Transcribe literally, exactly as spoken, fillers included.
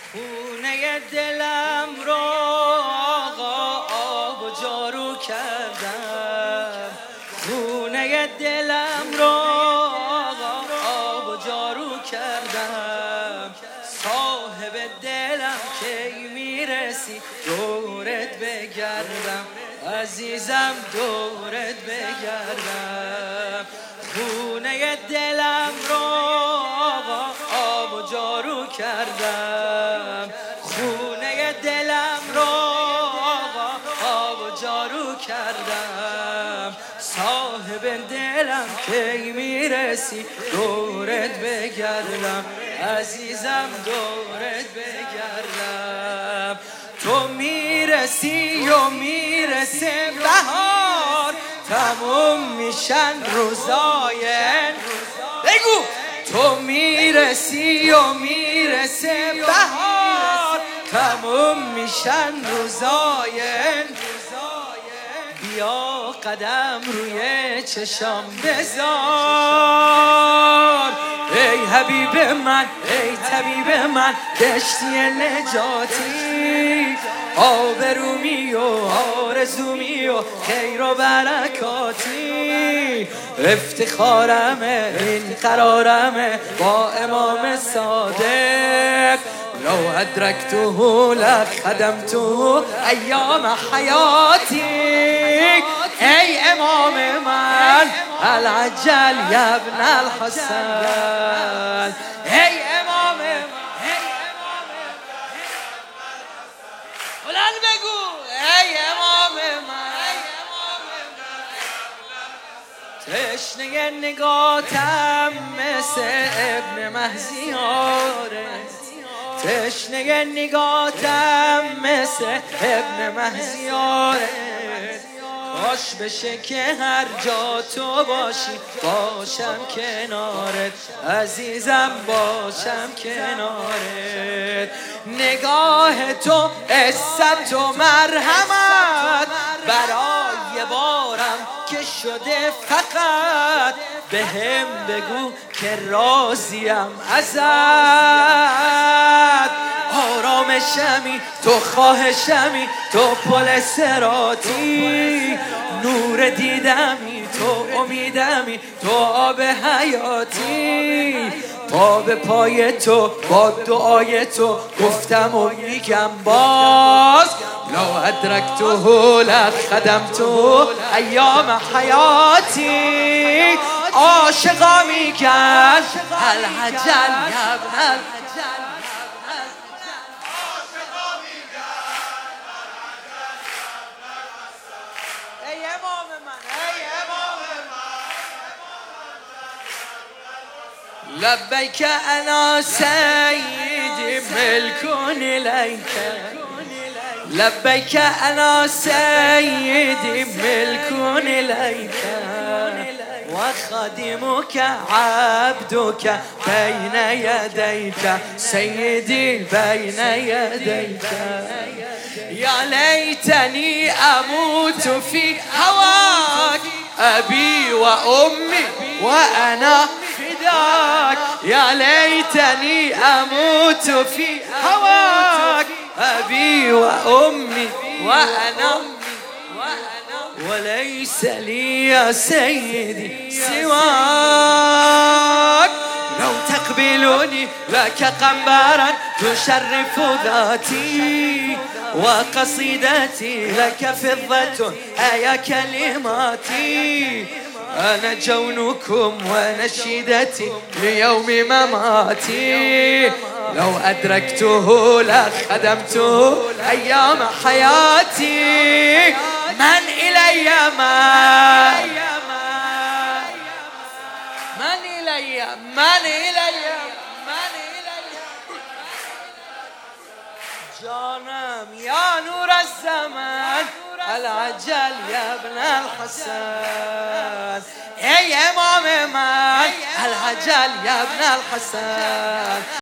خونه دلم رو آقا آب و جارو کردم، خونه دلم رو آقا آب و جارو کردم. صاحب دلم کی میرسی دورت بگردم، عزیزم دورت بگردم. خونه دلم رو آقا آب و جارو کردم، خونه دلم رو آقا آب و جارو کردم. صاحب دلم کی میرسی دورت بگردم، عزیزم دورت بگردم. تو میرسی و میرسه بهار، تموم میشن روزای بگو. تو میرسی و میرسه بهار، تموم میشن روزای. بیا قدم روی چشام بذار، ای حبیب من ای طبیب من، کشتی نجاتی. آبرومی و آرزومی و خیر و برکاتی. افتخارمه این قرارمه با امام صادق، لو ادرکته لخدمته ایام حیاتی. ای امام من العجل یا ابن الحسن، ای امام من بلند بگو ای امام من. تشنه نگاتم مثل ابن مهزیاره، تشنه نگاتم مثل ابن مهزیاره. کاش بشه که هر جا تو باشی باشم کنارت، عزیزم باشم کنارت. نگاه تو عزت و مرحمت برای بارم که شده، فقط به هم بگو که راضیم ازت. آرامشمی تو، خواهشمی تو، پل صراطی. نور دیدمی تو، امیدمی تو، آب حیاتی. پا به پای تو با دعای تو گفتم و میگم باز، لو ادرکته لخدمته ایام حیاتی. عاشقا میگن العجل یا ابن الحجل. ای امام من ای امام من، لبیک انا سیدی ملک الیک، لبیک انا سیدی ملک الیک، و خادمک عبدک بین یدیک سیدی بین یدیک. یا لیتنی اموت فی هواک ابی و امی و انا فداک. یا لیتنی اموت فی هواک ابی و امی و انا وليس لي يا سيدي سواك. لو تقبلني لك قنبرا تشرف ذاتي، وقصيدتي لك فضة أيا كلماتي. أنا جونكم ونشيدتي ليوم مماتي، لو أدركته لخدمته أيام حياتي. من إلي ما من إلي من إلي من إلي جانم يا نور الزمان العجل يا ابن الحسن. ای امام من العجل یا ابن الحسن.